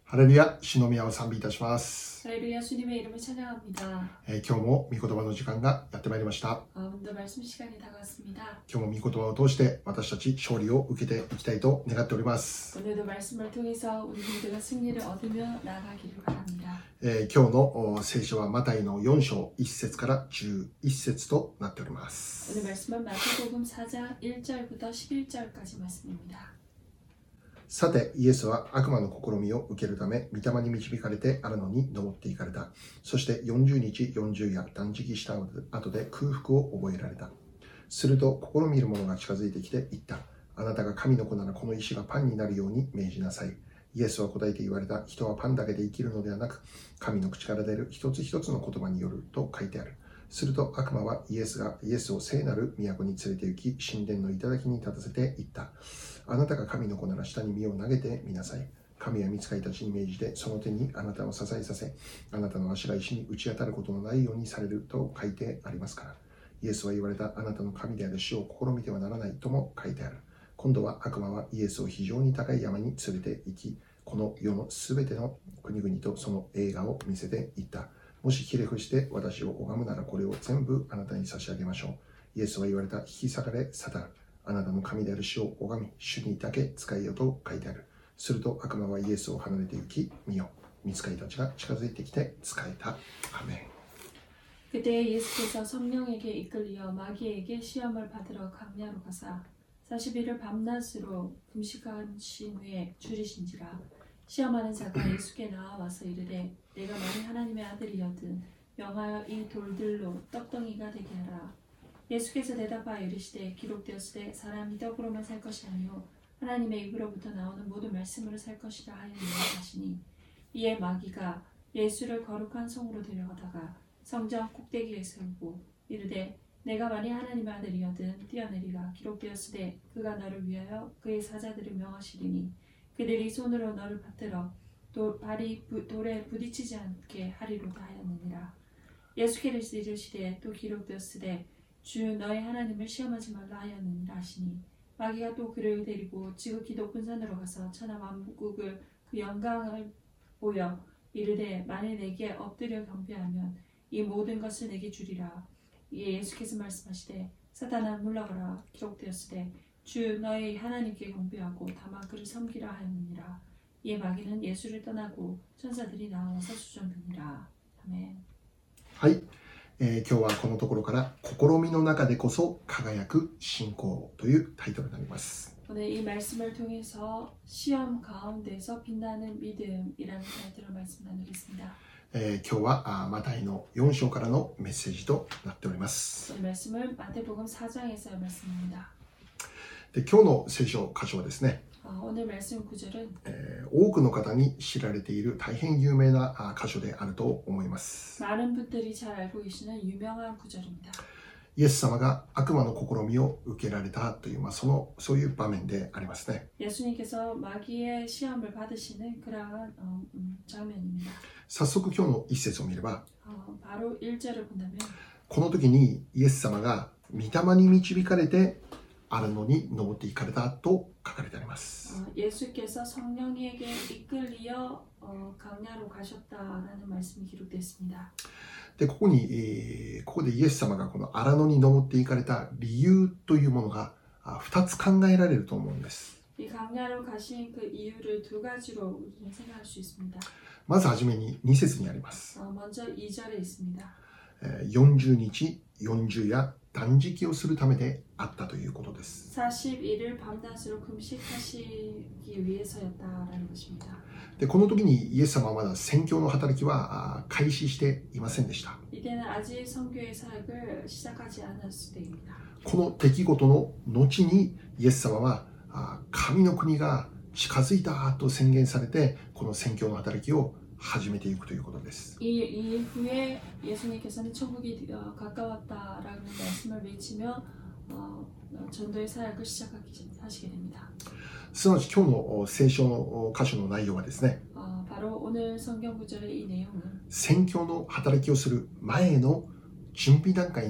ハレルヤ、主の宮を賛美いたします。 할렐루야 주님의 이름을 찬양합니다. 今日も御言葉の時間がやってまいりました。 오늘도 말씀 시간이 다가왔습니다. 今日も御言葉を通して私たち勝利を受けていきたいと願っております。 오늘도 말씀을 통해서 우리 모두가 승리를 얻으며 나아가기를 바랍니다. 今日の聖書はマタイの4章1節から11節となっております。 오늘 말씀은 마태복음 4장 1절부터 11절까지 말씀입니다. さてイエスは悪魔の試みを受けるため御霊に導かれてあるのに登っていかれた。そして40日40夜断食した後で空腹を覚えられた。すると試みる者が近づいてきて言った。あなたが神の子ならこの石がパンになるように命じなさい。イエスは答えて言われた。人はパンだけで生きるのではなく神の口から出る一つ一つの言葉によると書いてある。すると悪魔はイエスを聖なる都に連れて行き神殿の頂に立たせて言った。あなたが神の子なら下に身を投げてみなさい。神は御使いたちに命じてその手にあなたを支えさせ、あなたの足が石に打ち当たることのないようにされると書いてありますから。イエスは言われた。あなたの神である主を試みてはならないとも書いてある。今度は悪魔はイエスを非常に高い山に連れて行き、この世のすべての国々とその栄華を見せていった。もしひれ伏して私を拝むならこれを全部あなたに差し上げましょう。イエスは言われた。引き裂かれサタン。あなたの神である主を拝み、主にだけ使いよと書いてある。すると悪魔はイエスを離れて行き、見よ。御使いたちが近づいてきて仕えた。アメン。 그때 예수께서 성령에게 이끌려 마귀에게 시험을 받으러 광야로 가사 40일을 밤낮으로 금식하신 후에 줄이신지라. 시험하는 자가 예수께 나와서 이르되 내가 만일 하나님의 아들이여든 명하여 이 돌들로 떡덩이가 되게 하라. 예수께서 대답하여 이르시되 기록되었으되 사람이 떡으로만 살 것이 아니요 하나님의 입으로부터 나오는 모든 말씀으로 살 것이라 하였느니라 하시니 이에 마귀가 예수를 거룩한 성으로 데려가다가 성전 꼭대기에 세우고 이르되 내가 만일 하나님의 아들이여든 뛰어내리라. 기록되었으되 그가 너를 위하여 그의 사자들을 명하시리니 그들이 손으로 너를 받들어 발이 돌에 부딪히지 않게 하리로다 하였느니라. 예수께서 이르시되 또 기록되었으되 주 너의 하나님을 시험하지 말라 하였느니라 하시니 마귀가 또 그를 데리고 지극히 높은 산으로 가서 천하 만국을 그 영광을 보여 이르되 만일 내게 엎드려 경배하면 이 모든 것을 내게 주리라. 이에 예수께서 말씀하시되 사탄아 물러가라. 기록되었으되 주 너의 하나님께 경배하고 다만 그를 섬기라 하였느니라. 이에 마귀는 예수를 떠나고 천사들이 나와서 수종드니라. 아멘. はい、今日はこのところから試みの中でこそ輝く信仰というタイトルになります。 오늘 이 말씀을 통해서 시험 가운데서 빛나는 믿음이라는 타이틀로 말씀 나누겠습니다. 今日はマタイの4章からのメッセージとなっております。 이 말씀은 마태복음 4장에서의 말씀입니다. で今日の聖書箇所はですね、 오늘 말씀 구절은 多くの方に知られている大変有名な箇所であると思います。 많은 분들이 잘 알고 계시는 유명한 구절입니다. イエス様が悪魔の試みを受けられたという、そういう場面でありますね。 예수님께서 마귀의 시험을 받으시는 그러한 장면입니다. 早速今日の一節を見れば、 바로 1절을 본다면 この時にイエス様が御霊に導かれてあるのに登っていかれたと書かれてあります。 예수께서 성령에게 이끌려 강야로 가셨다라는 말씀이 기록되어 있습니다. でここでイエス様がこの荒野に登っていかれた理由というものが2つ考えられると思うんです。 이 강야로 가신 그 이유를 두 가지로 우리는 생각할 수 있습니다. まずはじめに2節にあります。 먼저 2절에 있습니다. 40日40夜断食をするためであったということです。 40일을 밤낮으로 금식하시기 위해서였다라는 것입니다. でこの時にイエス様はまだ宣教の働きは開始していませんでした。 이때는 아직 선교의 사역을 시작하지 않았을 때입니다. この出来事の後にイエス様は神の国が近づいたと宣言されてこの宣教の働きを始めていくということです。 이 이후에 예수님께서는 천국이 가까웠다라는 말씀을 외치며 전도의 사역을 시작하시게 됩니다. すなわち今日の聖書の箇所の内容はですね、 바로 오늘 성경 구절의 이 내용은 宣教の働きをする前の準備段階に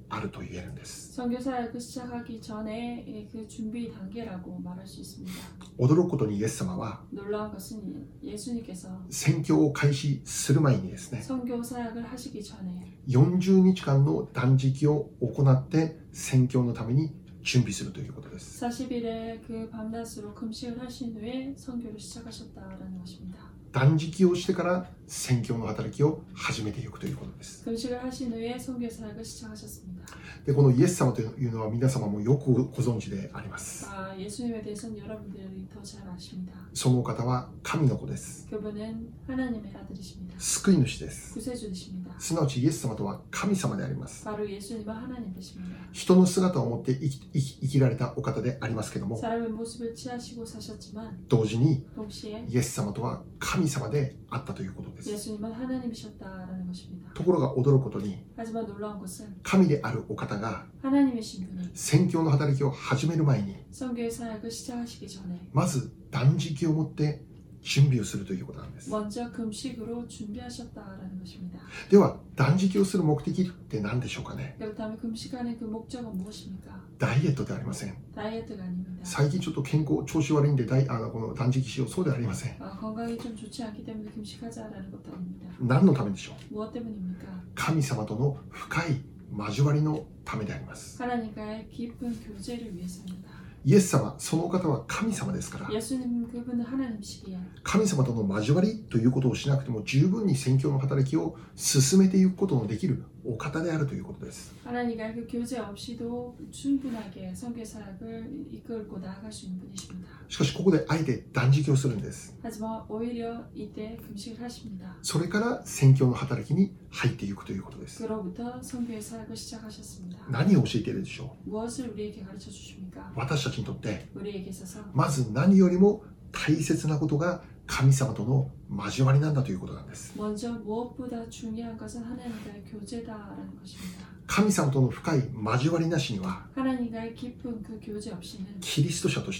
あると言えるんです。 선교사역을 시작하기 전에 그 준비 단계라고 말할 수 있습니다. 驚くことにイエス様は 놀라운 것은 예수님께서 宣教を開始する前にですね、 선교 사역을 하시기 전에 40日間の断食を行って宣教のために準備するということです。 40일의 그 밤낮으로 금식을 하신 후에 선교를 시작하셨다라는 것입니다. 断食をしてから宣教の働きを始めていくということです。 금식을 하신 후에 선교 사역을 시작하셨습니다. で、このイエス様というのは皆様もよくご存知であります。 예수님에 대해서는 여러분들이 더 잘 아십니다. そのお方は神の子です。 그분은 하나님의 아들이십니다. 救い主です。 구세주이십니다. すなわちイエス様とは神様であります。 바로 예수님은 하나님 되십니다. 人の姿を持って生きられたお方でありますけども、 사람의 모습을 취하시고 사셨지만 同時に 동시에 イエス様とは神様であったということです。 예수님은 하나님이셨다라는 것입니다. ところが驚くことに 하지만 놀라운 것은 神であるお方が 하나님이신 분이 宣教の働きを始める前に 선교의 사역을 시작하시기 전에 まず断食をもって準備をするということなんです。 먼저 금식으로 준비하셨다라는 것입니다. では断食をする目的って何でしょうかね。 그렇다면 금식하는 그 목적은 무엇입니까? ダイエットではありません。 다이어트가 아닙니다. 最近ちょっと健康調子悪いんでこの断食しよう、そうではありません。 건강이 좀 좋지 않기 때문에 금식하자라는 것도 아닙니다. 何のためでしょう。 무엇 때문입니까? 神様との深い交わりのためであります。 하나님과의 깊은 교제를 위해서입니다. イエス様、そのお方は神様ですから、 예수님 그분은 하나님시기에 神様との交わりということをしなくても十分に宣教の働きを進めていくことのできるお方であるということです。 하나님과 그 교제 없이도 충분하게 선교 사역을 이끌고 나아갈 수 있는 분이십니다. しかしここであえて断食をするんです。 하지만 오히려 이때 금식을 하십니다. それから宣教の働きに入っていくということです。 그로부터 선교의 사역을 시작하셨습니다. 何を教えているでしょう。 무엇을 우리에게 가르쳐 주십니까? 私たちにとって 우리에게 있어서 まず何よりも大切なことが神様との交わりなんだということなんです。 먼저 무엇보다 중요한 것은 하나님과의 교제다라는 것입니다. 神様との深い交わりなしには 하나님과의 깊은 그 교제 없이는 キリスト者として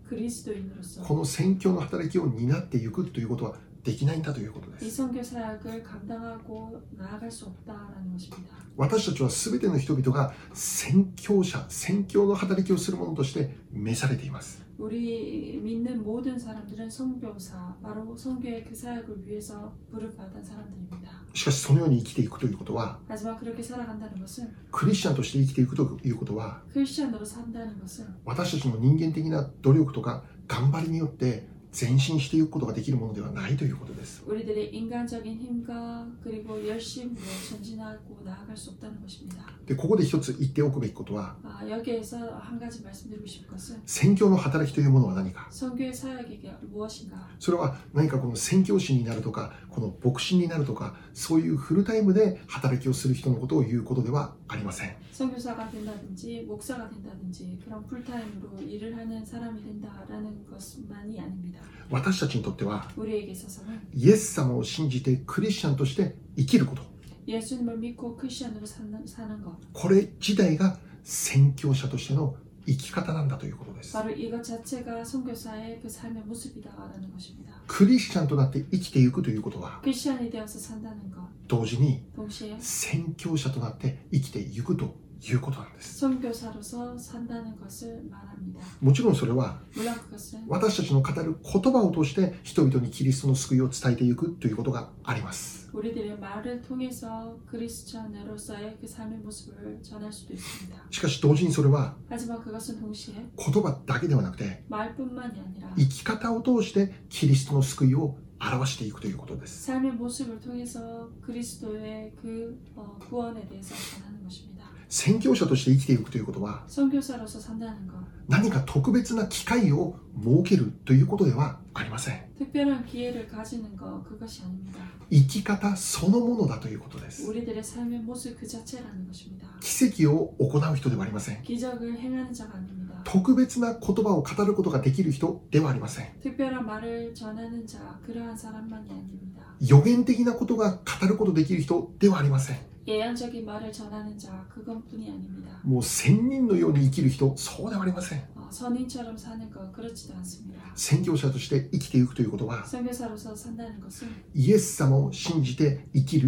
그리스도인으로서 この宣教の働きを担っていくということはできないんだということで 이 す。 선교 사역을 감당하고 나아갈 수 없다라는 것입니다. 私たちは全ての人々が宣教者、宣教の働きをする者として召されています。 우리 믿는 모든 사람들은 선교사, 바로 선교의 그 사역을 위해서 부름받은 사람들입니다. しかしそのように生きていくということは、 하지만 그렇게 살아간다는 것은 クリスチャンとして生きていくということは、 크리스천으로 산다는 것은 私たちの人間的な努力とか頑張りによって前進していくことができるものではないということです。 우리들의 인간적인 힘과 그리고 열심으로 전진하고 나아갈 수 없다는 것입니다. で、ここで一つ言っておくべきことは、 여기에서 한 가지 말씀드리고 싶은 것은 宣教の働きというものは何か。 선교의 사역이 무엇인가? それは何かこの宣教師になるとか、この牧師になるとか、そういうフルタイムで働きをする人のことを言うことではありません。 선교사가 된다든지 목사가 된다든지 그런 풀타임으로 일을 하는 사람이 된다라는 것만이 아닙니다. 私たちにとっては、 우리에게 있어서는 イエス様を信じてクリスチャンとして生きること、 예수님을 믿고 크리스천으로 사는 것, これ自体が宣教者としての生き方なんだということです。 바로 이것 자체가 선교사의 그 삶의 모습이다라는 것입니다. クリスチャンとなって生きていくということは、 크리스천이 되어서 산다는 것, 同時に 동시에 宣教者となって生きていくということなんです。 선교사로서 산다는 것을 말합니다. もちろんそれは 물론 그것은 私たちの語る言葉を通して人々にキリストの救いを伝えていくということがあります。 우리들의 말을 통해서 크리스천으로서의 그 삶의 모습을 전할 수도 있습니다. しかし同時にそれは 하지만 그것은 동시에 言葉だけではなくて 말뿐만이 아니라 生き方を通してキリストの救いを表していくということです。 삶의 모습을 통해서 그리스도의 그 구원에 대해서 전하는 것입니다. 宣教者として生きていくということは 선교사로서 산다는 것, 何か特別な機会を設けるということではありません。 특별한 기회를 가지는 것, 그것이 아닙니다. 生き方そのものだということです。 우리들의 삶의 모습 그 자체라는 것입니다. 奇跡を行う人ではありません。 기적을 행하는 자가 아닙니다. 特別な言葉を語ることができる人ではありません。 특별한 말을 전하는 자, 그러한 사람만이 아닙니다. 予言的なことが語ることできる人ではありません。 예언적인 말을 전하는 자, 그것뿐이 아닙니다. もう仙人のように生きる人、そうではありません。 선인처럼 사는 것, 그렇지도 않습니다. 宣教者として生きていくということは、 선교사로서 산다는 것은 イエス様を信じて生きる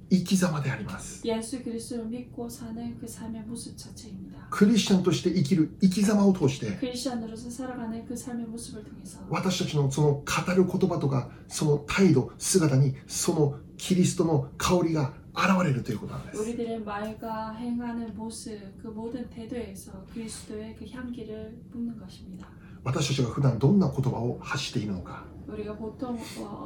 生き様であります。 예수 그리스도를 믿고 사는 그 삶의 모습 자체입니다. クリスチャンとして生きる生き様を通して 크리스천으로서 살아가는 그 삶의 모습을 통해서 私たちのその語る言葉とかその態度姿にそのキリストの香りが現れるということなんです。 우리들의 말과 행하는 모습 그 모든 태도에서 그리스도의 그 향기를 뿜는 것입니다. 私たちが普段どんな言葉を発しているのか、 우리가 보통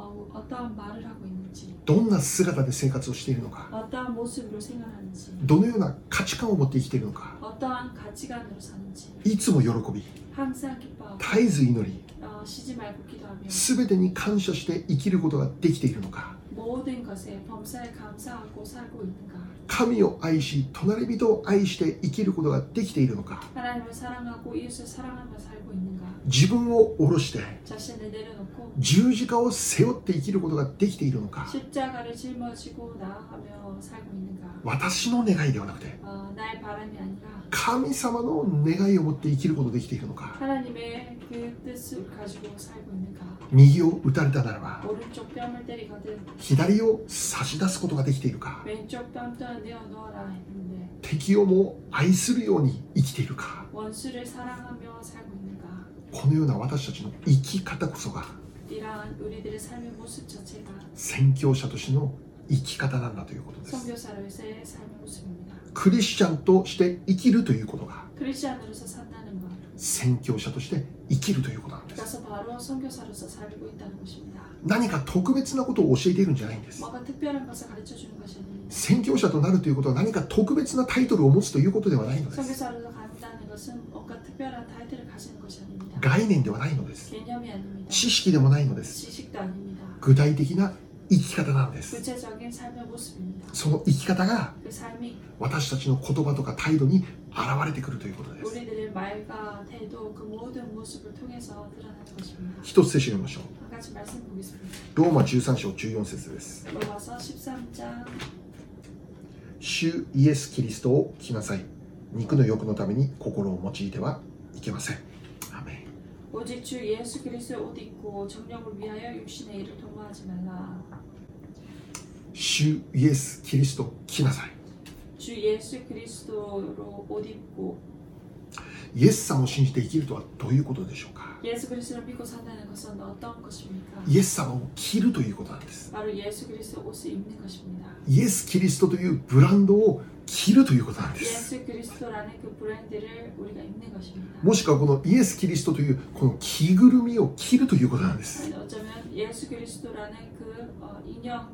어떠한 말을 하고 있는지, どんな姿で生活をしているのか、 어떠한 모습으로 생활하는지, どのような価値観を持って生きているのか、 어떠한 가치관으로 사는지 いつも喜び 항상 기뻐하고 絶えず祈り 쉬지 말고 기도하며 全てに感謝して生きることができているのか、 모든 것에 범사에 감사하고 살고 있는가, 神を愛し隣人を愛して生きることができているのか、 하나님을 사랑하고 이웃을 사랑하며 살고 있는가, 自分を下ろして 자신을 내려놓고 十字架を背負って生きることができているのか、 십자가를 짊어지고 나아가며 살고 있는가, 私の願いではなくて 나의 바람이 아니라 神様の願いを持って生きることができているのか、 하나님의 그 뜻을 가지고 살고 있는가, 右を打たれたならば 오른쪽 뺨을 때리거든 左を差し出すことができているか、 왼쪽 뺨 내어놓아라 했는데 敵をも愛するように生きているか、 원수를 사랑하며 살고 있는가. このような私たちの生き方こそが 이러한 우리들의 삶의 모습 자체가 宣教者としての生き方なんだということです。 선교사로서의 삶의 모습입니다. クリスチャンとして生きるということが 크리스천으로서 산다는 것, 宣教者として生きるということなんです。 그래서 바로 선교사로서 살고 있다는 것입니다. 何か特別なことを教えているんじゃないんです。 뭔가 특별한 것을 가르쳐 주는 것이 아닙니다. 宣教者となるということは何か特別なタイトルを持つということではないのです。 선교사로서 간다는 것은 뭔가 특별한 타이틀을 가지는 것이 아닙니다. 概念ではないのです。 개념이 아닙니다. 知識でもないのです。 지식도 아닙니다. 具体的な生き方なんです。 구체적인 삶의 모습입니다. その生き方が 그 삶이 私たちの言葉とか態度に現れてくるということです。 우리들의 말과 태도 그 모든 모습을 통해서 드러나는 것입니다. 一つ聖書を読みましょう。 한 가지 말씀 보겠습니다. ローマ13章14節です。 로마서 13장 主イエス・キリストを着なさい。肉の欲のために心を用いてはいけません。アメン。 오직 주 예수 그리스도의 옷 입고 정력을 위하여 육신의 일을 도모하지 말라. 主イエス・キリストを着なさい。 주 예수 그리스도로 옷 입고 イエス様を信じて生きるとはどういうことでしょうか。 예수 그리스도를 믿고 산다는 것은 어떤 것입니까? イエス様を着るということなんです。 바로 예수 그리스도 옷을 입는 것입니다. イエス・キリストというブランドを着るということなんです。 예수 그리스도라는 그 브랜드를 우리가 입는 것입니다. もしくはこのイエス・キリストというこの着ぐるみを着るということなんです。 아니, 어쩌면 예수 그리스도라는 그 인형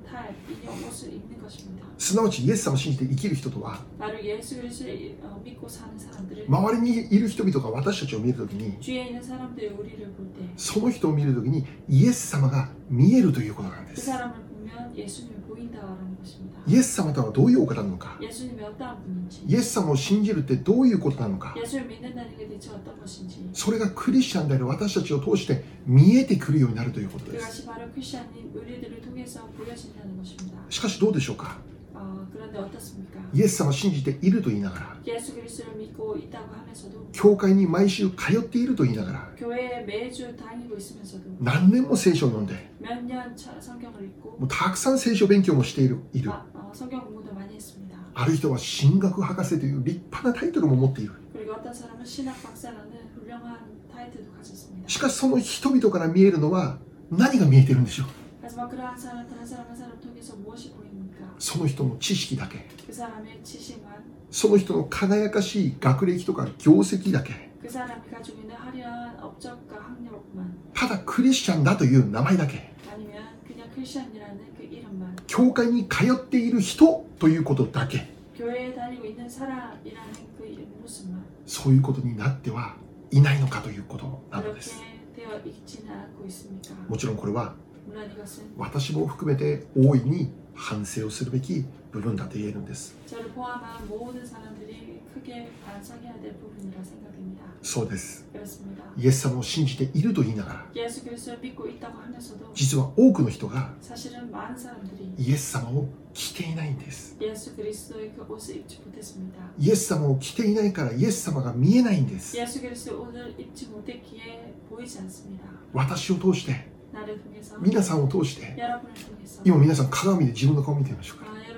옷을 입는 것입니다. すなわちイエス様を信じて生きる人とは 바로 예수 그리스도를 믿고 사는 사람들은 周りにいる人々が私たちを見るときに 주위에 있는 사람들이 우리를 볼 때 その人を見るときにイエス様が見えるということなんで 그 す。 사람을 보면 예수님이 보인다라는 것입니다. イエス様とはどういうお方なのか、 예수님이 어떠한 분인지, イエス様を信じるってどういうことなのか、 예수를 믿는다는 게 대체 어떤 것인지, それがクリスチャンである私たちを通して見えてくるようになるということです。 그것이 바로 크리스천인 우리들을 통해서 보여진다는 것입니다. しかしどうでしょうか。 그런데 어떻습니까? イエス様を信じていると言いながら 예수 그리스도를 믿고 있다고 하면서도 教会に毎週通っていると言いながら 교회에 매주 다니고 있으면서도 何年も聖書を読んで 몇 년 성경을 읽고 もうたくさん聖書勉強もしている 성경 공부도 많이 했습니다. ある人は神学博士という立派なタイトルも持っている。 그리고 어떤 사람은 신학 박사라는 훌륭한 타이틀도 가졌습니다. しかしその人々から見えるのは何が見えているんでしょう。 하지만 그러한 사람들 한 사람 한 사람 통해서 무엇이 보입니까? その人の知識だけ、 그 사람의 지식만, その人の輝かしい学歴とか業績だけ、 그 사람이 가지고 있는 화려한 업적과 학력만, ただクリスチャンだという名前だけ、 아니면 그냥 크리스천이라는 그 이름만, 教会に通っている人ということだけ、 교회에 다니고 있는 사람이라는 그 모습만, そういうことになってはいないのかということなので 그렇게 す。 되어 있지는 않고 있습니까? もちろんこれは 물론 이것은 私も含めて大いに反省をするべき部分だと言えるんです。 저를 포함한 모든 사람들이 크게 반성해야 될 부분이라 생각됩니다. そうです。 그렇습니다. イエス様を信じていると言いながら 예수 그리스도를 믿고 있다고 하면서도 実は多くの人が 사실은 많은 사람들이 イエス様を着ていないんです。 예수 그리스도의 그 옷을 입지 못했습니다. イエス様を着ていないからイエス様が見えないんです。 예수 그리스도의 옷을 입지 못했기에 보이지 않습니다. 私を通して 나를 통해서 皆さんを通して 여러분을 통해서 今皆さん鏡で自分の顔を見てみましょうか。 여러분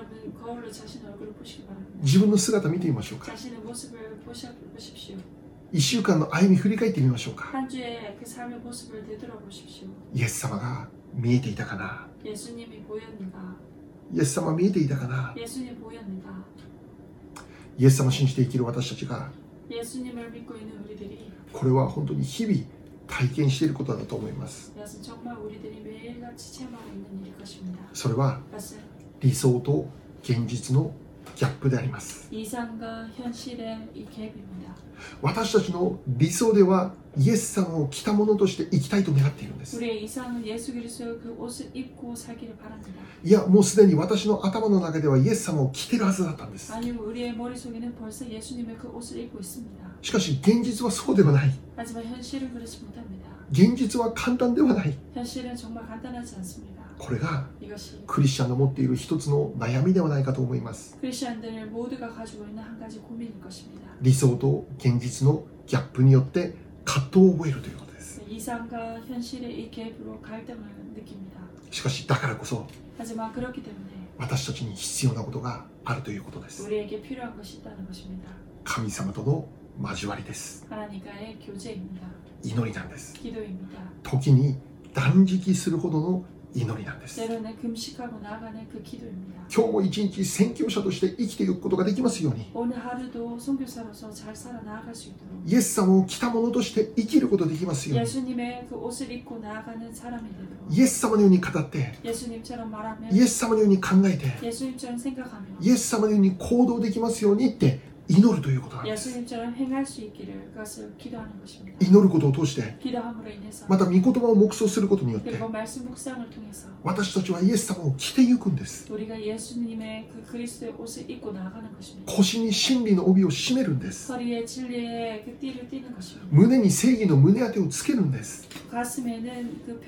거울로 자신 얼굴을 보시기 바랍니다. 自分の姿見てみましょうか。 자신의 모습을 보십시오. 1週間の歩み振り返ってみましょうか。 한 주의 그 삶의 모습을 되돌아보십시오. イエス様が見えていたかな。 예수님이 보였는가? イエス様見えていたかな。 예수님 보였는가? イエス様を信じて生きる私たちが、 예수님을 믿고 있는 우리들이 これは本当に日々体験していることだと思います。 이것은 정말 우리들이 매일같이 체험하고 있는 일일 것입니다. それは 이것은 理想と現実のギャップであります。 이상과 현실의 이 갭입니다. 私たちの理想ではイエス様を着たものとして生きたいと願っているんです。 우리의 이상은 예수 그리스도의 그 옷을 입고 살기를 바랍니다. いや、もうすでに私の頭の中ではイエス様を着てるはずだったんです。 아니면 우리의 머릿속에는 벌써 예수님의 그 옷을 입고 있습니다. しかし現実はそうではない。 하지만 현실은 그렇지 못합니다. 現実は簡単ではない。 현실은 정말 간단하지 않습니다. これが 이것이 クリスチャンの持っている一つの悩みではないかと思います。 크리스천들 모두가 가지고 있는 한 가지 고민일 것입니다. 理想と現実のギャップによって葛藤を覚えるということです。 이상과 현실의 이 갭으로 갈등을 느낍니다. しかしだからこそ 하지만 그렇기 때문에 私たちに必要なことがあるということです。 우리에게 필요한 것이 있다는 것입니다. 神様との交わりです。 하나님과의 교제입니다. 祈りなんです。 기도입니다. 時に断食するほどの祈りなんです。 때로는 금식하고 나아가는 그 기도입니다. 今日も一日宣教者として生きていくことができますように、 오늘 하루도 선교사로서 잘 살아 나아갈 수 있도록 イエス様を着たものとして生きることができますように、 예수님의 그 옷을 입고 나아가는 사람이 되도록 イエス様のように語って 예수님처럼 말하며 イエス様のように考えて 예수님처럼 생각하며 イエス様のように行動できますようにって祈るということなんです。 예수님처럼 행할 수 있기를 그것을 기도하는 것입니다. 祈ることを通して、 기도함으로 인해서 また御言葉を黙想することによって 그리고 말씀 묵상을 통해서 私たちはイエス様を着てゆくんです。 우리가 예수님의 그 그리스도의 옷을 입고 나아가는 것입니다. 腰に真理の帯を締めるんです。 허리에 진리의 그 띠를 띠는 것입니다. 胸に正義の胸当てをつけるんです。 가슴에는 그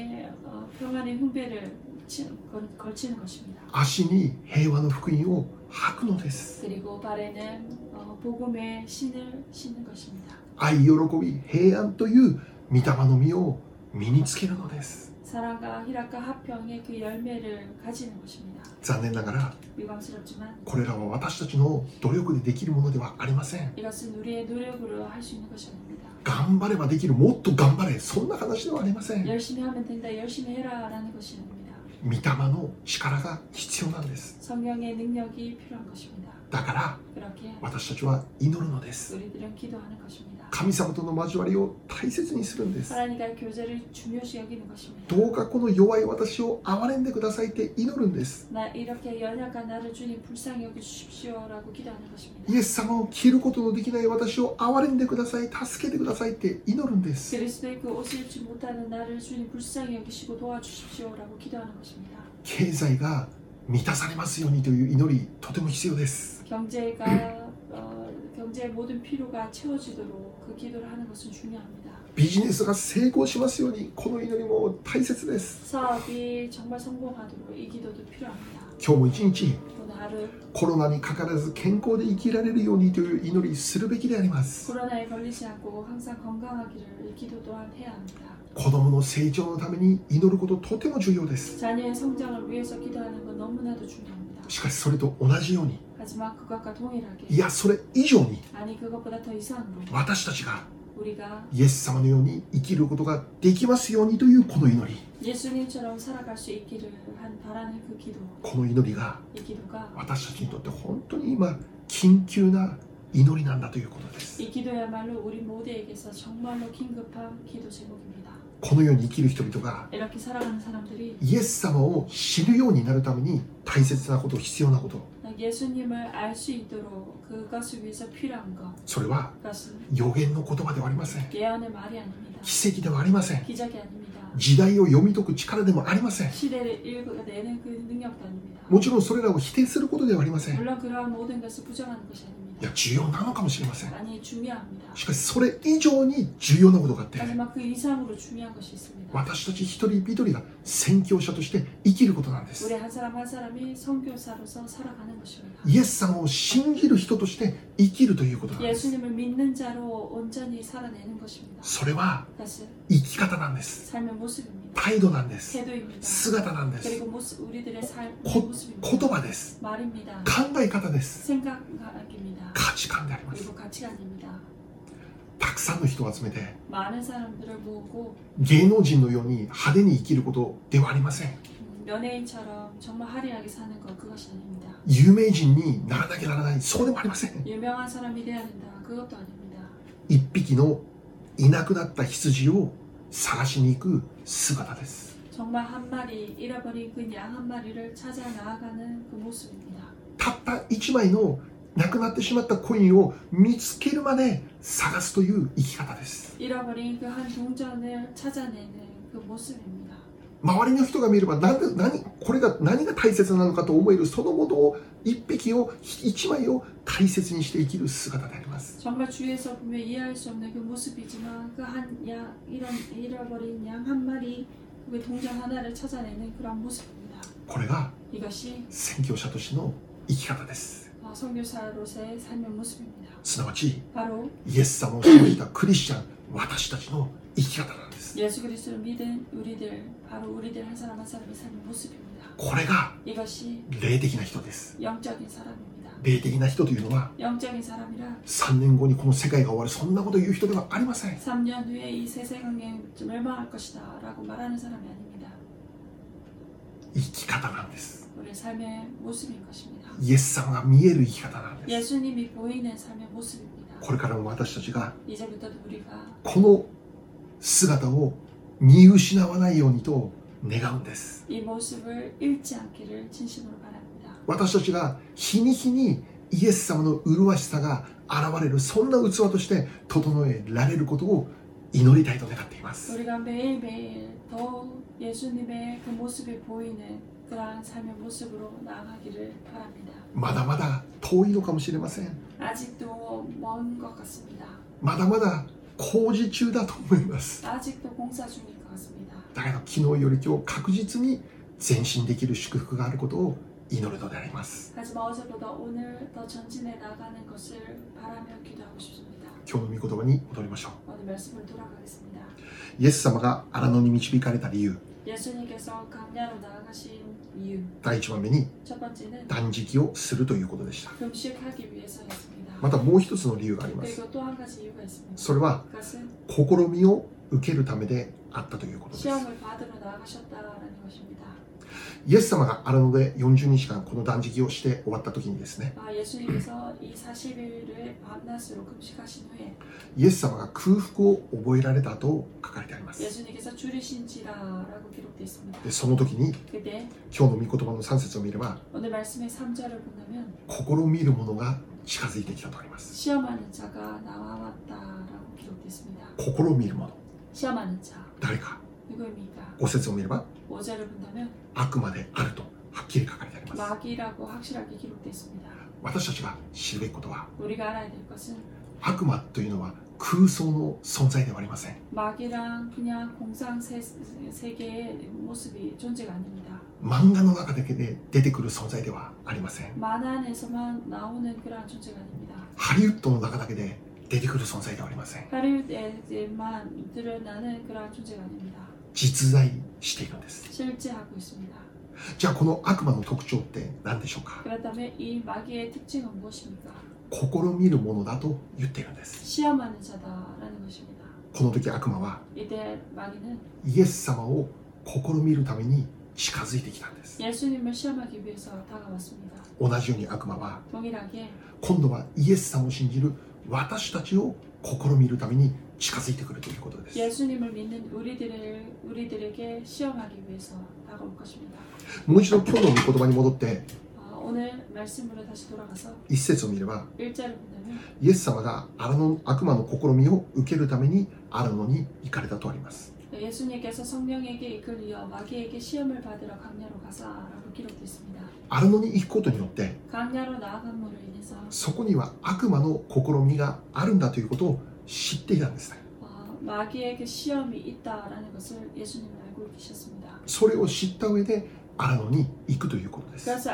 평안의 흉배를 걸치는 것입니다. 足に平和の福音を履くのです。 그리고 발에는 복음의 신을 신는 것입니다. 愛、喜び、平安という御霊の実を身につけるのです。 사랑과 희락과 화평의 그 열매를 가지는 것입니다. 残念ながら 유감스럽지만 これらは私たちの努力でできるものではありません。 이것은 우리의 노력으로 할 수 있는 것이 아닙니다. 頑張ればできる、もっと頑張れ、そんな話ではありません。 열심히 하면 된다, 열심히 해라라는 것이 아닙니다. 御霊の力が必要なんです。 성령의 능력이 필요한 것입니다. だから 그렇게 私たちは祈るのです。 우리들은 기도하는 것입니다. 神様との交わりを大切にするんです。 하나님과의 교제를 중요시 여기는 것입니다. どうかこの弱い私を憐れんでくださいって祈るんです。 나 이렇게 연약한 나를 주님 불쌍히 여겨 주십시오라고 기도하는 것입니다. イエス様を着ることのできない私を憐れんでください、助けてくださいって祈るんです。 그리스도의 그 옷을 입지 못하는 나를 주님 불쌍히 여기시고 도와주십시오라고 기도하는 것입니다. 経済が満たされますようにという祈り、とても必要です。 경제의 모든 필요가 채워지도록 그 기도를 하는 것은 중요합니다. ビジネスが成功しますように、この祈りも大切です。 사업이 정말 성공하도록 이 기도도 필요합니다. 今日も一日 오늘 하루 コロナにかからず健康で生きられるようにという祈りするべきであります。 코로나에 걸리지 않고 항상 건강하기를 이 기도 또한 해야 합니다. 子供の成長のために祈ることとても重要です。 자녀의 성장을 위해서 기도하는 건 너무나도 중요합니다. しかしそれと同じように、 하지만 그것과 동일하게 いやそれ以上に 아니 그것보다 더 이상으로 私たちが 우리가 イエス様のように生きることができますようにというこの祈り、 예수님처럼 살아갈 수 있기를 바라는 그 기도, この祈りが 이 기도가 私たちにとって本当に今緊急な祈りなんだということです。 이 기도야말로 우리 모두에게서 정말로 긴급한 기도 제목입니다. このように生きる人々が 이렇게 살아가는 사람들이 イエス様を知るようになるために大切なこと、必要なこと、 예수님을 알 수 있도록 그것을 위해서 필요한 것, それは 그것은 予言の言葉ではありません。 예언의 말이 아닙니다. 奇跡ではありません。 기적이 아닙니다. 時代を読み解く力でもありません。 시대를 읽어내는 그 능력도 아닙니다. もちろんそれらを否定することではありません。 물론 그러한 모든 것을 부정하는 것이 아닙니다. いや重要なのかもしれません。 많이 중요합니다. しかしそれ以上に重要なことがあって、 하지만 그 이상으로 중요한 것이 있습니다. 私たち一人一人が宣教者として生きることなんです。 우리 한 사람 한 사람이 선교사로서 살아가는 것입니다. イエス様を信じる人として生きるということなんです。 예수님을 믿는 자로 온전히 살아내는 것입니다. それは 그것은 生き方なんです。 삶의 모습입니다. 態度なんです。 태도입니다. 姿なんです。 그리고 모습, 우리들의 삶의 こ 모습입니다. 言葉です。 말입니다. 考え方です。 생각입니다. 価値観であります。 그리고 가치관입니다. たくさんの人を集めて 많은 사람들을 모으고 芸能人のように派手に生きることではありません。 연예인처럼 정말 화려하게 사는 것 그것이 아닙니다. 有名人にならなきゃならない、そうでもありません。 유명한 사람이 돼야 된다. 그것도 아닙니다. 一匹のいなくなった羊を探しに行く姿です。 정말 한 마리 잃어버린 그 양 한 마리를 찾아 나아가는 그 모습입니다. たった一枚のなくなってしまったコインを見つけるまで探すという生き方です。 잃어버린 그 한 동전을 찾아내는 그 모습입니다. 周りの人が見ればこれが何が大切なのかと思えるそのものを一匹を一枚を大切にして生きる姿であります。 정말 주위에서 보면 이해할 수 없는 그 모습이지만 그 한 양 이런 잃어버린 양 한 마리 그 동전 하나를 찾아내는 그런 모습입니다. これが 이것이 宣教者としての生き方です。 선교사로서의 삶의 모습입니다. すなわち 바로 イエス様を信じたクリスチャン、私たちの生き方なんです。 예수 그리스도를 믿은 우리들, 바로 우리들 한 사람 한 사람의 삶의 모습입니다. これが 이것이 霊的な人です。 영적인 사람입니다. 霊的な人というのは 영적인 사람이라 3年後にこの世界が終わる、そんなことを言う人ではありません。 3년 후에 이 세상이 멸망할 것이다 라고 말하는 사람이 아닙니다. 生き方なんです。 우리 삶의 모습인 것입니다. イエス様が見える生き方なんです。 예수님이 보이는 삶의 모습입니다. これからも私たちが 이제부터도 우리가 この姿を見失わないようにと願うんです。 이 모습을 잃지 않기를 진심으로 바랍니다. 私たちが日に日にイエス様の麗しさが現れる、そんな器として整えられることを祈りたいと願っています。 우리가 매일매일 더 예수님의 그 모습이 보이는 그러한 삶의 모습으로 나아가기를 바랍니다. まだまだ遠いのかもしれません。 아직도 먼 것 같습니다. まだまだ工事中だと思います。 아직도 공사 중일 것 같습니다. だけど昨日より今日確実に前進できる祝福があることを祈るのであります。 하지만 어제보다 오늘 더 전진해 나가는 것을 바라며 기도하고 싶습니다. 今日の御言葉に戻りましょう。 오늘 말씀을 돌아가겠습니다. イエス様が荒野に導かれた理由、 예수님께서 강야로 나아가신 이유 第1番目に 첫 번째는 断食をするということでした。 금식하기 위해서였습니다. またもう一つの理由があります。 그리고 또 한 가지 이유가 있습니다. それは 그것은 試みを受けるためであったということです。 시험을 받으러 나아가셨다라는 것입니다. イエス様が荒野で40日間この断食をして終わった時にですね、 예수님께서 이 40일을 밤낮으로 금식하신 후에 イエス様が空腹を覚えられたと書かれてあります。 예수님께서 줄이신지라라고 기록되어 있습니다. でその時に 그때 今日の御言葉の3節を見れば 오늘 말씀의 3절을 본다면 試みる者が近づいてきたとあります。 시험하는 자가 나와왔다라고 기록되어 있습니다. 試みる者、 시험하는 자 誰か。 누구입니까? 5節を見れば 5절을 본다면 悪魔であるとはっきり書かれてあります。 마귀라고 확실하게 기록되어 있습니다. 私たちが知るべきことは、 우리가 알아야 될 것은 悪魔というのは空想の存在ではありません。 마귀랑 그냥 공상 세계의 모습이 존재가 아닙니다. 漫画の中だけで出てくる存在ではありません。 만화 안에서만 나오는 그러한 존재가 아닙니다. ハリウッドの中だけで出てくる存在ではありません。 하리우드에만 드러나는 그러한 존재가 아닙니다. 実在しているんです。 실제하고 있습니다. じゃあこの悪魔の特徴って何でしょうか。 그렇다면 이 마귀의 특징은 무엇입니까? 試みるものだと言っているんです。 시험하는 자다라는 것입니다. この時悪魔は 이때 마귀는 イエス様を試みるために近づいてきたんです。 예수님을 시험하기 위해서 다가왔습니다. 同じように悪魔は 동일하게 今度はイエス様を信じる私たちを試みるために近づいてくるということです。 예수님을 믿는 우리들에게 시험하기 위해서 다가올 것입니다. もう一度今日の御言葉に戻って 오늘 말씀으로 다시 돌아가서 一節を見れば 1절을 본다면 イエス様が悪魔の試みを受けるために荒野に行かれたとあります。 예수님께서 성령에게 이끌려 마귀에게 시험을 받으러 강야로 가사라고 기록되어 있습니다. 荒野に行くことによって 강야로 나아감으로 인해서 そこには悪魔の試みがあるんだということを知っていたんですね。 마귀에게 시험이 있다라는 것을 예수님은 알고 계셨습니다. それを知った上で荒野に行くということです。 그래서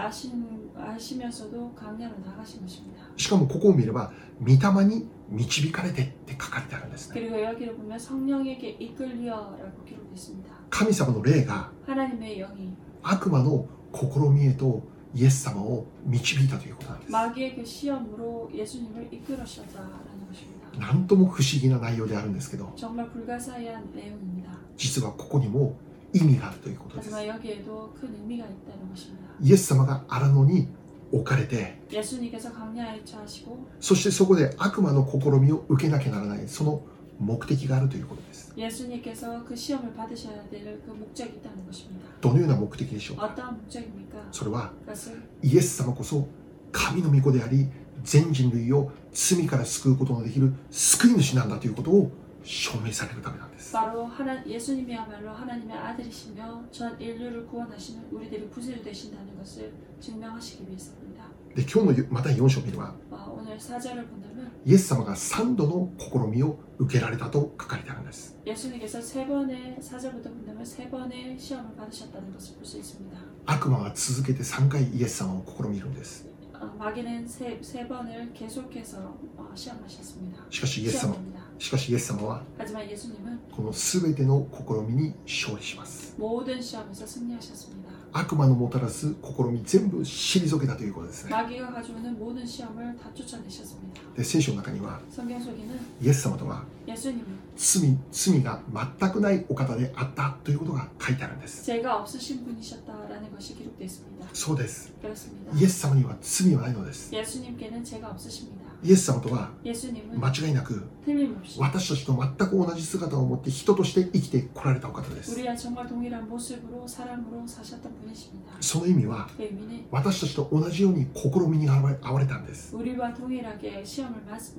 아시면서도 강야로 나가신 것입니다. しかもここを見れば御霊に導かれてって書かれてあるんですね。 그리고 여기를 보면 성령에게 이끌려라고 기록되어 있습니다. 神様の霊が 하나님의 영이 悪魔の試みへとイエス様を導いたということなんです。 마귀의 그 시험으로 예수님을 이끌으셨다라는 것입니다. なんとも不思議な内容であるんですけど、 정말 불가사의한 내용입니다. 実はここにも意味があるということです。 하지만 여기에도 큰 의미가 있다는 것입니다. イエス様が荒野に置かれて、 예수님께서 강야에 처하시고 そしてそこで悪魔の試みを受けなきゃならない、その目的があるということです。 예수님께서 그 시험을 받으셔야 될 그 목적이 있다는 것입니다. どのような目的でしょうか。 어떠한 목적입니까? それは 그것은 イエス様こそ神の御子であり、全人類を罪から救うことのできる救い主なんだということを証明されるためなんです。 바로 예수님이야말로 하나님의 아들이시며 전 인류를 구원하시는 우리들의 구세주 되신다는 것을 증명하시기 위해서입니다. で、今日のまた4章を見れば、 오늘 4절을 본다면 イエス様が3度の試みを受けられたと書かれてあるんです。 예수님께서 3번의 4절부터 본다면 3번의 시험을 받으셨다는 것을 볼 수 있습니다. 悪魔は続けて3回イエス様を試みるんです。 마귀는 세 번을 계속해서 시험하셨습니다. しかしイエス様は 하지만 예수님은 この全ての試みに勝利します。 모든 시험에서 승리하셨습니다. 悪魔のもたらす試み全部退けたということですね。 마귀가 가져오는 모든 시험을 다 쫓아내셨습니다. で、聖書の中には 성경 속에는 イエス様とは 예수님은 罪が全くないお方であったということが書いてあるんです。 죄가 없으신 분이셨다라는 것이 기록되어 있습니다. そうです。 그렇습니다. イエス様には罪はないのです。 예수님께는 죄가 없으십니다. イエス様とは 예수님은 間違いなく 틀림없이 私たちと全く同じ姿を持って人として生きてこられたお方です。 우리와 정말 동일한 모습으로 사람으로 사셨던 분이십니다. その意味は 그 의미는 私たちと同じように試みに遭われたんです。 우리와 동일하게 시험을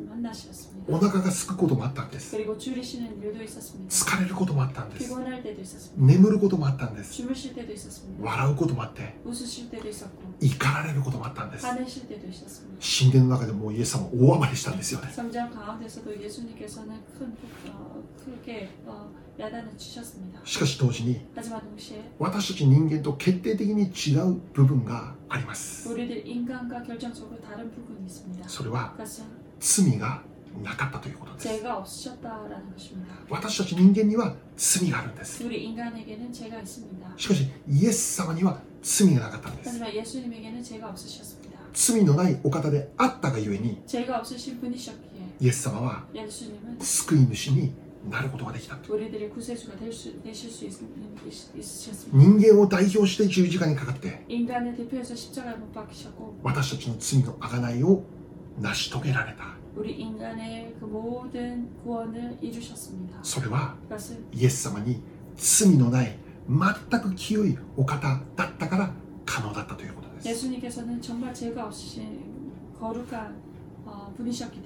만나셨습니다. お腹が空くこともあったんです。 그리고 줄이시는 일도 있었습니다. 疲れることもあったんです。 피곤할 때도 있었습니다. 眠ることもあったんです。 주무실 때도 있었습니다. 笑うこともあって 웃으실 때도 있었고 怒られることもあったんです。 화내실 때도 있었습니다. 神殿の中でもうイエス様大暴れしたんですよね。 성전 가운데서도 예수님께서는 크게 야단을 치셨습니다. しかし同時に 하지만 동시에 私たち人間と決定的に違う部分があります。 우리들 인간과 결정적으로 다른 부분이 있습니다. それは 그것은 罪がなかったということです。 죄가 없으셨다라는 것입니다. 私たち人間には罪があるんです。 우리 인간에게는 죄가 있습니다. しかしイエス様には罪がなかったんです。 하지만 예수님에게는 죄가 없으셨습니다. 罪のないお方であったがゆえに 죄가 없으신 분이셨기에 イエス様は 예수님은 救い主になることができた。 우리들의 구세주가 되실 수 있으셨습니다. 人間を代表して十字架にかかって 인간을 대표해서 십자가에 못 박히셨고 私たちの罪の贖いを成し遂げられた。 우리 인간의 그 모든 구원을 이루셨습니다. それは 그것은 イエス様に罪のない全く清いお方だったから可能だったということです。 예수님께서는 정말 죄가 없으신 거룩한 분이셨기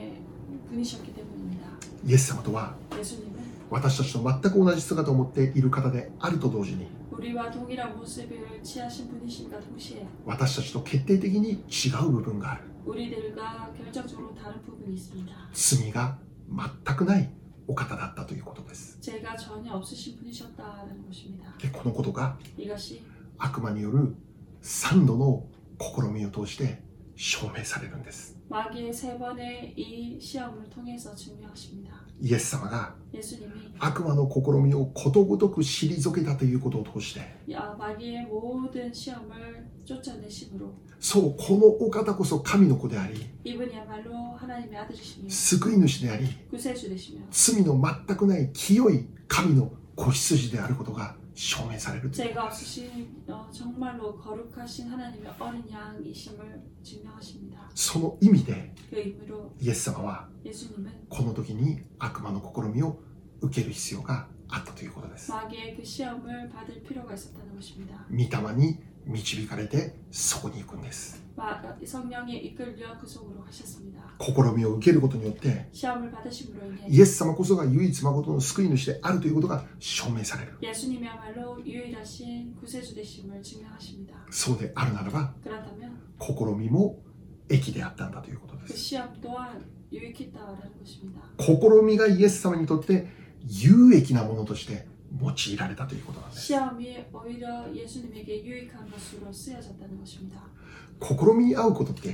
때문입니다. イエス様とは 예수님은 私たちと全く同じ姿を持っている方であると同時に 우리와 동일한 모습을 취하신 분이신가 동시에 私たちと決定的に違う部分がある。 우리들과 결정적으로 다른 부분이 있습니다. 罪が全くないお方だったということです。 죄가 전혀 없으신 분이셨다는 것입니다. で、このことが 이것이 悪魔による3度の試みを通して証明されるんです。 마귀의 3번의 이 시험을 통해서 증명하십니다. イエス様が 예수님이 悪魔の試みをことごとく退けたということを通して、 마귀의 모든 시험을 쫓아내심으로 そう、このお方こそ神の子であり、 이분이야말로 하나님의 아들이시며 救い主であり、 구세주 되시며 罪の全くない清い神の子羊であることが証明される。 죄가 없으신 정말로 거룩하신 하나님의 어린 양이심을 증명하십니다. その意味で 그 의미로 イエス様は 예수님은 この時に悪魔の試みを受ける必要があったということです。 마귀의 그 시험을 받을 필요가 있었다는 것입니다. 御霊に導かれてそこに行くんです。 성령에 이끌려 그 속으로 가셨습니다. 試みを受けることによって 시험을 받으심으로 인해 イエス様こそが唯一誠の救い主であるということが証明される。 예수님이야말로 유일하신 구세주 되심을 증명하십니다. そうであるならば 그렇다면 試みも益であったんだということで 그 す。 시험 또한 유익했다라는 것입니다. 試みがイエス様にとって有益なものとして用いられたということなんです。 시험이 오히려 예수님에게 유익한 것으로 쓰여졌다는 것입니다. 試みに遭うことって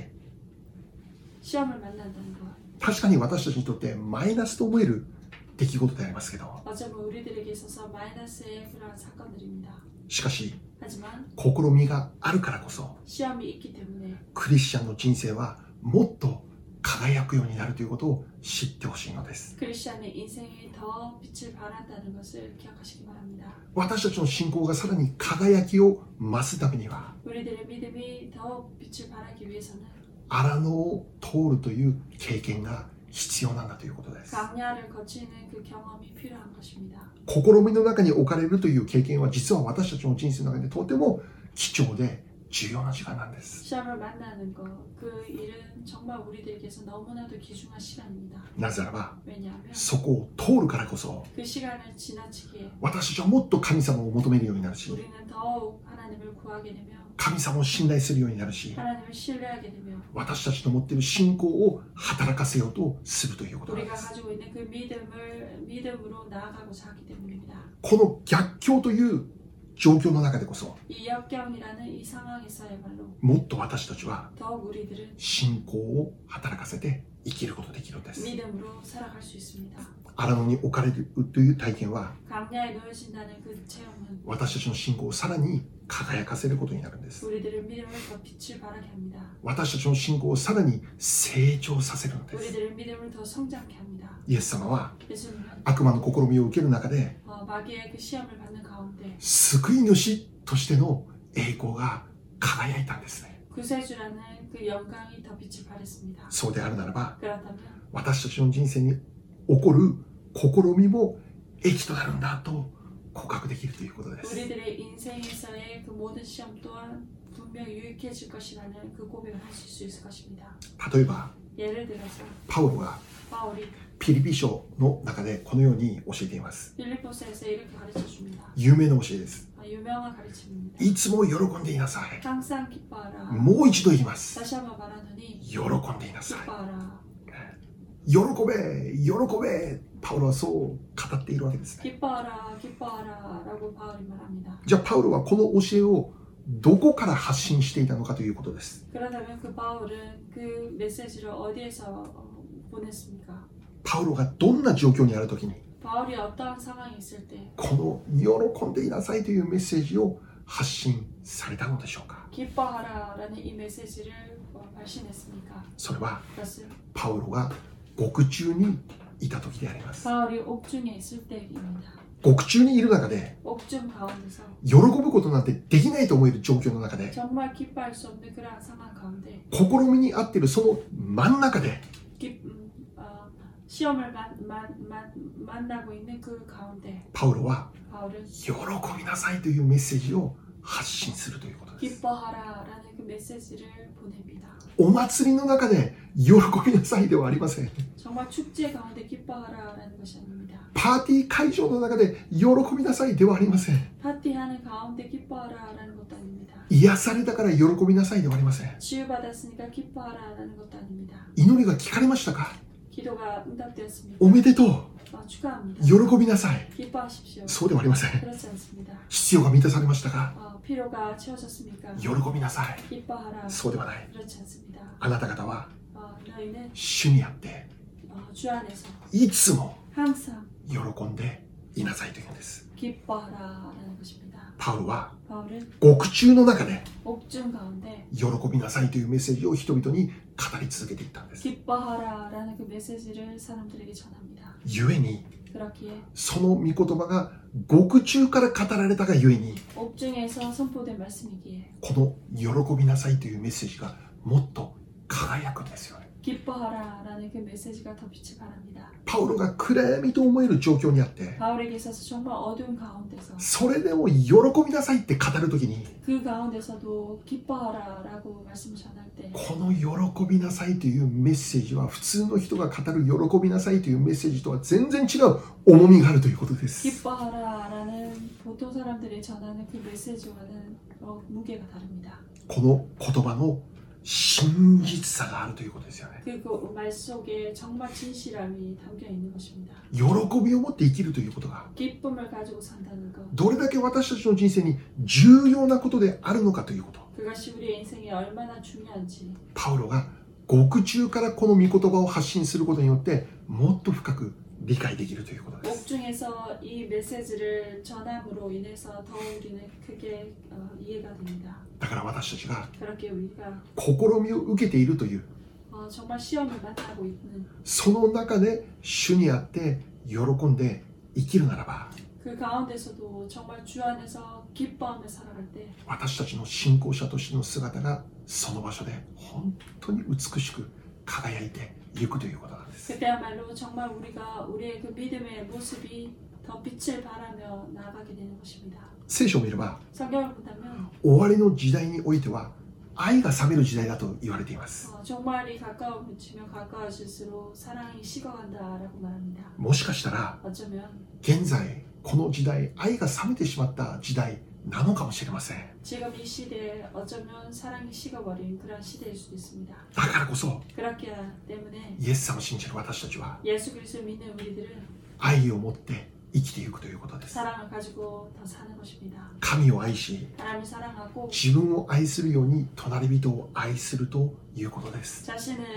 시험을 만난다는 것. 確かに私たちにとってマイナスと思える出来事でありますけど、 어쩌면 우리들에게 있어서 마이너스의 그러한 사건들입니다. しかし 하지만 試みがあるからこそ 시험이 있기 때문에 クリスチャンの人生はもっと輝くようになるということを知ってほしいのです。 크리스천의 인생이 더 빛을 발한다는 것을 기억하시기 바랍니다. 私たちの信仰がさらに輝きを増すためには 우리들의 믿음이 더 빛을 발하기 위해서는 荒野を通るという経験が必要なんだということです。 강야를 거치는 그 경험이 필요한 것입니다. 試みの中に置かれるという経験は実は私たちの人生の中でとても貴重で重要な時間なんです。 시험을 만나는 것, 그 일은 정말 우리들에게서 너무나도 귀중한 시간입니다. なぜならば 왜냐하면 そこを通るからこそ 그 시간을 지나치기에 私たちはもっと神様を求めるようになるし 우리는 더욱 하나님을 구하게 되며 神様を信頼するようになるし 하나님을 신뢰하게 되며 私たちの持っている信仰を働かせようとするということなんで 우리가 す。 가지고 있는 그 믿음으로 나아가고자 하기 때문입니다. この逆境という状況の中でこそ 이 역경이라는 이 상황에서야말로 もっと私たちは 더욱 우리들은 信仰を働かせて生きることができるんです。 믿음으로 살아갈 수 있습니다. 荒野に置かれるという体験は 강야에 놓여진다는 그 체험은 私たちの信仰をさらに輝かせることになるんです。 우리들의 믿음을 더 빛을 발하게 합니다. 私たちの信仰をさらに成長させるんです。 우리들의 믿음을 더 성장케 합니다. イエス様は 예수님은 悪魔の試みを受ける中で 마귀의 그 시험을 받는 가운데 救い主としての栄光が輝いたんですね。 구세주라는 그 영광이 더 빛을 발했습니다. そうであるならば 그렇다면 私たちの人生に起こる試みも益となるんだと告白できるということです。 우리들의 인생에서의 그 모든 시험 또한 분명 유익해질 것이라는 그 고백을 하실 수 있을 것입니다. 例えば 예를 들어서 パウロが 바울이 ピリピ書の中でこのように教えています。 빌립보서에서 이렇게 가르쳐 줍니다. 有名な教えです。 유명한 가르침입니다. いつも喜んでいなさい。 항상 기뻐하라. もう一度言います。 다시 한번 말하노니 喜んでいなさい。 기뻐하라. 喜べ、喜べ。パウロはそう語っているわけですね。 기뻐하라, 기뻐하라라고 바울이 말합니다. じゃあパウロはこの教えをどこから発信していたのかということです。 그러다면 그 바울은 그 메시지를 어디에서 보냈습니까? パウロがどんな状況にあるときに 바울이 어떠한 상황이 있을 때 この喜んでいなさいというメッセージを発信されたのでしょうか。 기뻐하라라는 이 메시지를 발신했습니까? それは 그것은 パウロが獄中にいた時であります。 바울이 옥중에 있을 때입니다. 獄中にいる中で 옥중 가운데서 喜ぶことなんてできないと思える状況の中で 정말 기뻐할 수 없는 그러한 상황 가운데 試みにあっているその真ん中で 시험을 만나고 있는 그 가운데 パウロは 바울은 喜びなさいというメッセージを発信するということです。 기뻐하라라는 그 메시지를 보냅니다. お祭りの中で喜びなさいではありません。 정말 축제 가운데 기뻐하라라는 것이 아닙니다. パーティー会場の中で喜びなさいではありません。 파티하는 가운데 기뻐하라라는 것도 아닙니다. 癒されたから喜びなさいではありません。 치유받았으니까 기뻐하라라는 것도 아닙니다. 祈りが聞かれましたか？ 기도가 응답되었습니다. おめでとう。 축하합니다. 喜びなさい。 기뻐하십시오. そうではありません。 그렇지 않습니다. 必要が満たされましたか？ 필요가 채워졌습니까? 喜びなさい。 기뻐하라. そうではない。 그렇지 않습니다. あなた方は 너희는 主にあって 주 안에서 いつも 항상 喜んでいなさいというんです。 기뻐하라라는 것입니다. パウロは 바울은 獄中の中で 옥중 가운데 喜びなさいというメッセージを人々に語り続けていったんです。 기뻐하라라는 그 메시지를 사람들에게 전합니다. ゆえに 그렇기에 その御言葉が獄中から語られたがゆえに 옥중에서 선포된 말씀이기에 この喜びなさいというメッセージがもっと輝くんですよね。 기뻐하라라는 그 메시지가 더 빛을 발합니다. パウロが暗闇と思える状況にあって、 바울에게 있어서 정말 어두운 가운데서 それでも喜びなさいって語るときに、 그 가운데서도 기뻐하라라고 말씀을 전할 때 この喜びなさいというメッセージは普通の人が語る喜びなさいというメッセージとは全然違う重みがあるということです。 기뻐하라라는 보통 사람들이 전하는 그 메시지와는 무게가 다릅니다. この言葉の真実さがあるということですよね。 그 말 속에 정말 진실함이 담겨 있는 것입니다. 喜びを持って生きるということが 기쁨을 가지고 산다는 것. どれだけ私たちの人生に重要なことであるのかということ。 그것이 우리의 인생에 얼마나 중요한지. パウロが獄中からこの御言葉を発信することによってもっと深く理解できるということです。 옥중에서 이 메시지를 전함으로 인해서 더 우리는 크게 이해가 됩니다. だから私たちが 그렇게 우리가 試みを受けているという 정말 시험을 만나고 있는 その中で主にあって喜んで生きるならば 그 가운데서도 정말 주 안에서 기뻐하며 살아갈 때 私たちの信仰者としての姿がその場所で本当に美しく輝いていくということなんです。 그때야말로 정말 우리가 우리의 그 믿음의 모습이 더 빛을 발하며 나아가게 되는 것입니다. 聖書を見れば 성경을 본다면 終わりの時代においては愛が冷める時代だと言われています。 종말이 가까워지면 가까워질수록 사랑이 식어간다라고 말합니다. もしかしたら 어쩌면 現在この時代愛が冷めてしまった時代なのかもしれません。 지금 이 시대에 어쩌면 사랑이 식어버린 그런 시대일 수도 있습니다. だからこそ 그렇기 때문에 イエス様を信じる私たちは 예수 그리스도를 믿는 우리들은 愛を持って生きていくということです。 사랑을 가지고 더 사는 것입니다. 神を愛し 하나님을 사랑하고 自分を愛するように隣人を愛するということです。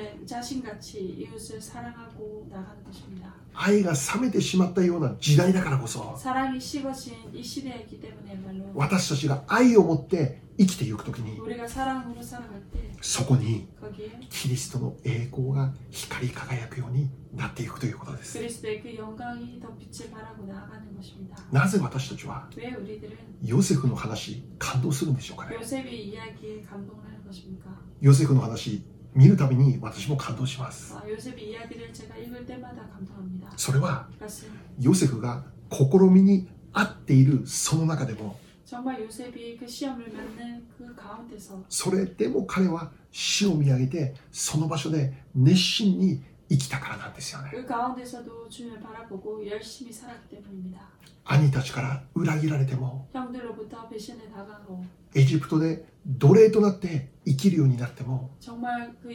자신같이 이웃을 사랑하고 나가는 것입니다. 愛が冷めてしまったような時代だからこそ 사랑이 식어진 이 시대이기 때문에야말로 私たちが愛を持って生きていくときに 우리가 사랑으로 살아갈 때 そこに 거기에 キリストの栄光が光り輝くようになっていくということです。 그리스도의 그 영광이 더 빛을 발하고 나아가는 것입니다. なぜ私たちは 왜 우리들은 ヨセフの話感動するんでしょうかね。 요셉의 이야기에 감동을 하는 것입니까? ヨセフの話見るたびに私も感動します。 요셉의 이야기를 제가 읽을 때마다 감동합니다. それは 그것은 ヨセフが試みに合っているその中でも 정말 요셉이 그 시험을 맞는 그 가운데서 それでも彼は主を見上げてその場所で熱心に生きたからなんですよね。 그 가운데서도 주님을 바라보고 열심히 살았기 때문입니다. 兄たちから裏切られても 형들로부터 배신을 당하고 エジプトで奴隷となって生きるようになっても 정말 그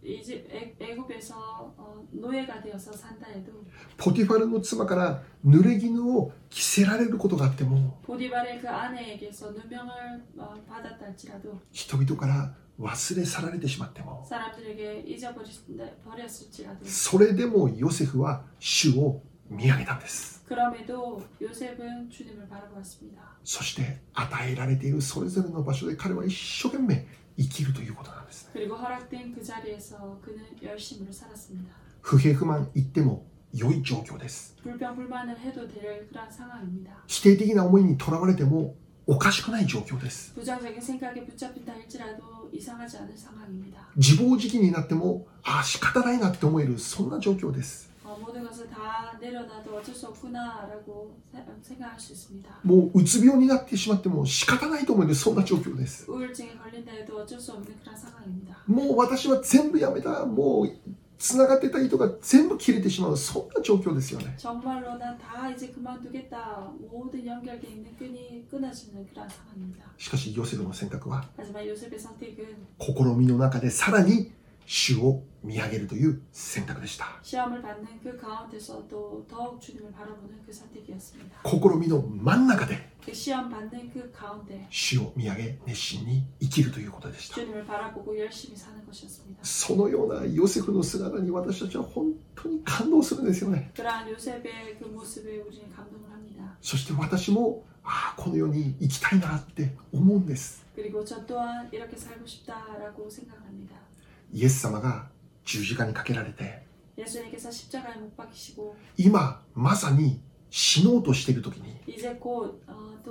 애굽에서 노예가 되어서 산다 해도 ポティファルの妻から濡れ衣を着せられることがあっても 보디발의 그 아내에게서 누명을 받았다 할지라도 人々から忘れ去られてしまっても 사람들에게 잊어버렸을지라도 それでもヨセフは主を見上げたんです。 그럼에도 요셉은 주님을 바라보았습니다. そして与えられているそれぞれの場所で彼は一生懸命生きるということなんですね。 그리고 허락된 그 자리에서 그는 열심으로 살았습니다. 不平不満言っても良い状況です。 불평불만을 해도 될 그런 상황입니다. 否定的な思いにとらわれてもおかしくない状況です。 부정적인 생각에 붙잡힌다 할지라도 이상하지 않은 상황입니다. 自暴自棄になっても仕方ないなって思えるそんな状況です。 모든 것을 다 내려놔도 어쩔 수 없구나라고 생각할 수 있습니다. もううつ病になってしまっても仕方ないと思えるそんな状況です。 우울증에 걸린다 해도 어쩔 수 없는 그런 상황입니다. もう私は全部やめた、もうつながってた糸が全部切れてしまうそんな状況ですよね。 정말로 난 다 이제 그만두겠다. 모든 연결되어 있는 끈이 끊어지는 그런 상황입니다. しかしヨセフの選択は 하지만 요셉의 선택은 試みの中でさらに主を見上げるという選択でした。 시험을 받는 그 가운데서도 더욱 주님을 바라보는 그 선택이었습니다. 試みの真ん中で 그 시험 받는 그 가운데 主を見上げ熱心に生きるということでした。 주님을 바라보고 열심히 사는 것이었습니다. そのようなヨセフの姿に私たちは本当に感動するんですよね。 그러한 요셉의 그 모습에 우리는 감동을 합니다. そして私もこのように生きたいなって思うんです。 그리고 저 또한 이렇게 살고 싶다라고 생각합니다. イエス様が十字架にかけられて 예수님께서 십자가에 못 박히시고 今まさに死のうとしている時に 이제 곧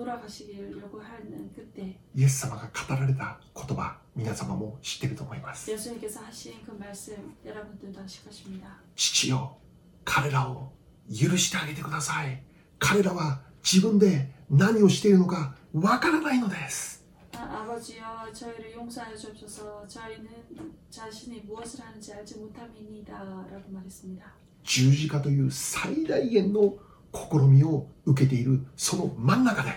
돌아가시려고 하는 그때 イエス様が語られた言葉、皆様も知っていると思います。 예수님께서 하신 그 말씀 여러분들도 아실 것입니다. 父よ、彼らを許してあげてください。彼らは自分で何をしているのかわからないのです。 아버지여 저희를 용서하여 주옵소서. 저희는 자신이 무엇을 하는지 알지 못함이니이다 라고 말했습니다. 十字架という最大限の試みを受けているその真ん中で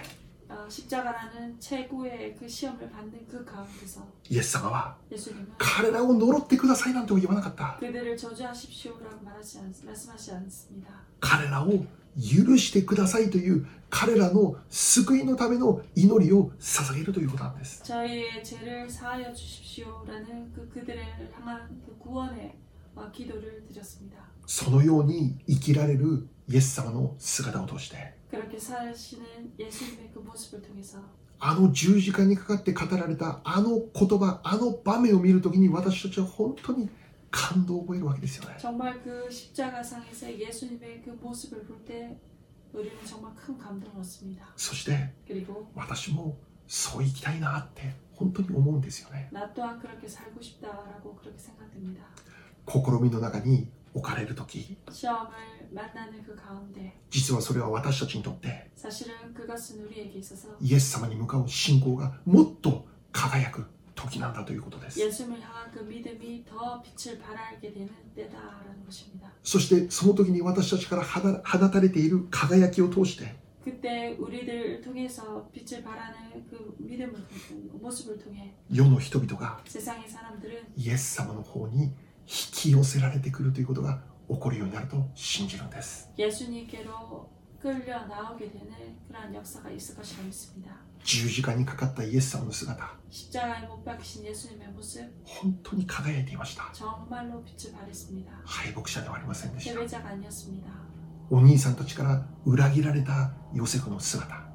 십자가라는 최고의 그 시험을 받는 그 가운데서 イエス様は 예수님은 彼らを呪ってくださいなんて言わなかった。 그들을 저주하십시오라고 말씀하지 않습니다. 彼らを許してくださいという彼らの救いのための祈りを捧げるということなんです。 저희의 죄를 사하여 주십시오라는 그들을 향한 그 구원의 기도를 드렸습니다. そのように生きられるイエス様の姿を通して 그렇게 사시는 예수님의 그 모습을 통해서 あの十字架にかかって語られたあの言葉、あの場面を見るときに私たちは本当に感動を覚えるわけですよね。 정말 그 십자가상에서 예수님의 그 모습을 볼 때 우리는 정말 큰 감동을 얻습니다. そして 그리고 私もそう生きたいなって本当に思うんですよね。 나 또한 그렇게 살고 싶다라고 그렇게 생각됩니다. 試みの中に置かれるとき、 시험을 만나는 그 가운데 実はそれは私たちにとって 사실은 그것은 우리에게 있어서 イエス様に向かう信仰がもっと輝く時なんだということです。 예수님을 향한 그 믿음이 더 빛을 발하게 되는 때다라는 것입니다. そしてその時に私たちから放たれている輝きを通して 그때 우리들 통해서 빛을 발하는 그 믿음을 모습을 통해 世の人々が 세상의 사람들은 イエス様の方に引き寄せられてくるということが起こるようになると信じるんです。 예수님께로 끌려 나오게 되는 그러한 역사가 있을 것이라 믿습니다. 十字架にかかったイエス様の姿、 십자가에 못 박히신 예수님의 모습 本当に輝いていました。 정말로 빛을 발했습니다. 敗北者ではありませんでした。 패배자가 아니었습니다. お兄さんたちから裏切られたヨセフの姿、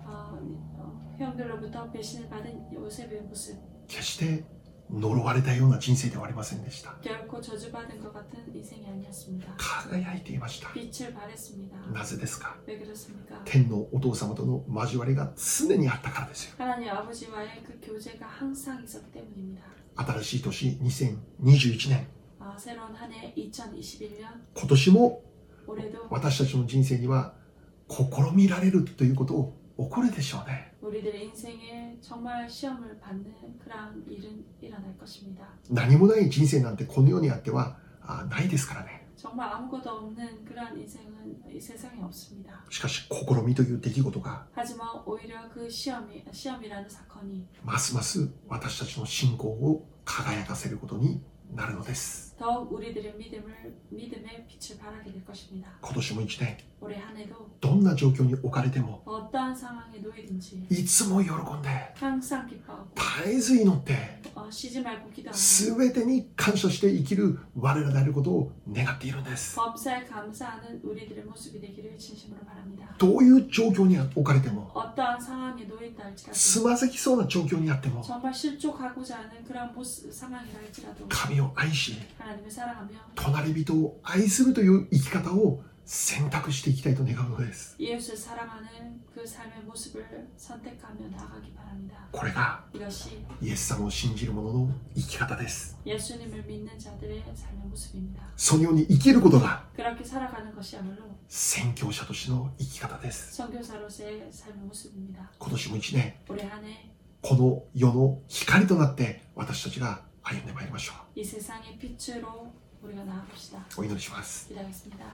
형들로부터 배신을 받은 요셉의 모습 決して呪われたような人生ではありませんでした。 결코 저주받은 것 같은 인생이 아니었습니다. 輝いていました。 빛을 발했습니다. なぜですか？ 왜 그렇습니까? 天のお父様との交わりが常にあったからですよ。 하나님 아버지와의 그 교제가 항상 있었기 때문입니다. 新しい年2021年、 새로운 한 해 2021년 今年も 올해도 私たちの人生には試みられるということを起こるでしょうね。 우리들의 인생에 정말 시험을 받는 그런 일은 일어날 것입니다. 何もない人生なんてこの世にあってはないですからね。 정말 아무것도 없는 그런 인생은 이 세상에 없습니다. しかし試みという出来事が 하지만 오히려 그 시험이라는 사건이 ますます私たちの信仰を輝かせることになるのです。 더욱 우리들의 믿음의 빛을 발하게 될 것입니다. 今年も一年 올해 한 해도 どんな状況に置かれても 어떠한 상황에 놓이든지 いつも喜んで 항상 기뻐하고 絶えず祈って 쉬지 말고 기도하고 全てに感謝して生きる我らであることを願っているんです。 범사에 감사하는 우리들의 모습이 되기를 진심으로 바랍니다. どういう状況に置かれても 어떠한 상황에 놓인다 つ 할지라도 まずきそうな状況にあっても 정말 실족하고자 하는 그런 상황이라 할지라도 神を愛し 하나님을 사랑하며 隣人を愛するという生き方を選択していきたいと願うのです。 이웃을 사랑하는 그 삶의 모습을 선택하며 나아가기 바랍니다. これが 이것이 イエス様を信じる者の生き方です。 예수님을 믿는 자들의 삶의 모습입니다. そのように生きることが 그렇게 살아가는 것이야말로 宣教者としての生き方です。 선교사로서의 삶의 모습입니다. 今年も一年 올해 한 해 이 この世の光となって私たちが歩んでまいりましょう。 세상의 빛으로 우리가 나아갑시다. お祈りします。 기도하겠습니다.